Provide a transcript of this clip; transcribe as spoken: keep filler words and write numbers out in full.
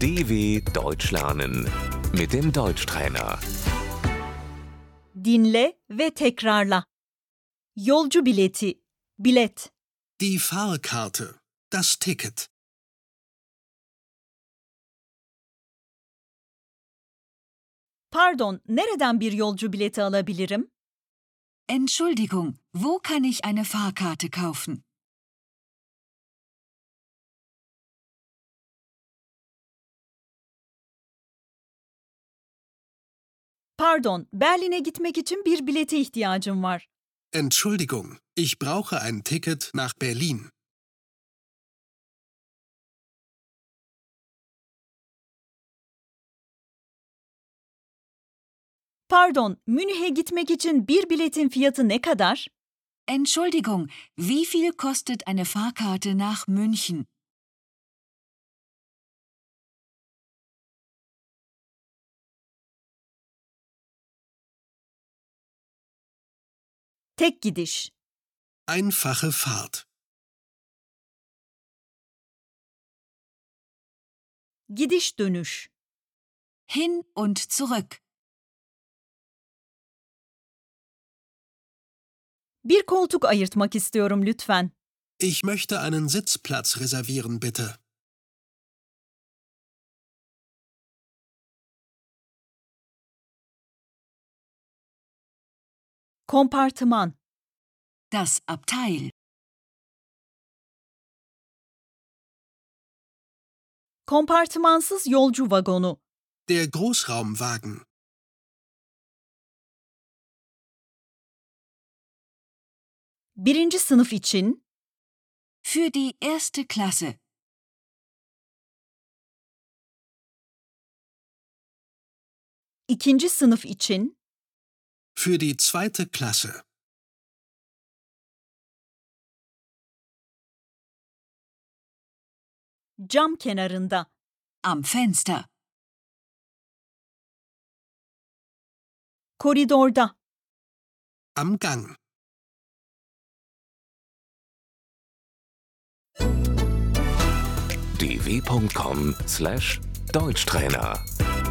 D W Deutsch lernen mit dem Deutschtrainer. Dinle ve tekrarla. Yolcu bileti, bilet. Die Fahrkarte, das Ticket. Pardon, nereden bir yolcu bileti alabilirim? Entschuldigung, wo kann ich eine Fahrkarte kaufen? Pardon, Berlin'e gitmek için bir bilete ihtiyacım var. Entschuldigung, ich brauche ein Ticket nach Berlin. Pardon, Münih'e gitmek için bir biletin fiyatı ne kadar? Entschuldigung, wie viel kostet eine Fahrkarte nach München? Tek gidiş. Einfache Fahrt. Gidiş dönüş. Hin und zurück. Bir koltuk ayırtmak istiyorum lütfen. Ich möchte einen Sitzplatz reservieren, bitte. Kompartıman. Das Abteil. Kompartımansız yolcu vagonu. Der Großraumwagen. Birinci sınıf için. Für die erste Klasse. İkinci sınıf için. Für die zweite Klasse. Cam kenarında. Am Fenster. Koridorda. Am Gang. d w punkt com slash Deutschtrainer